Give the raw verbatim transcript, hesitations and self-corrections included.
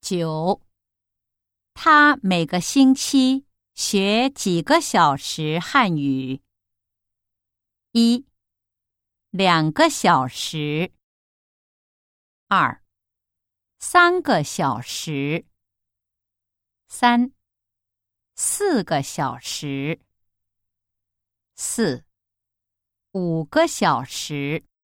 九，他每个星期学几个小时汉语？一，两个小时。二，三个小时。三，四个小时。四，五个小时。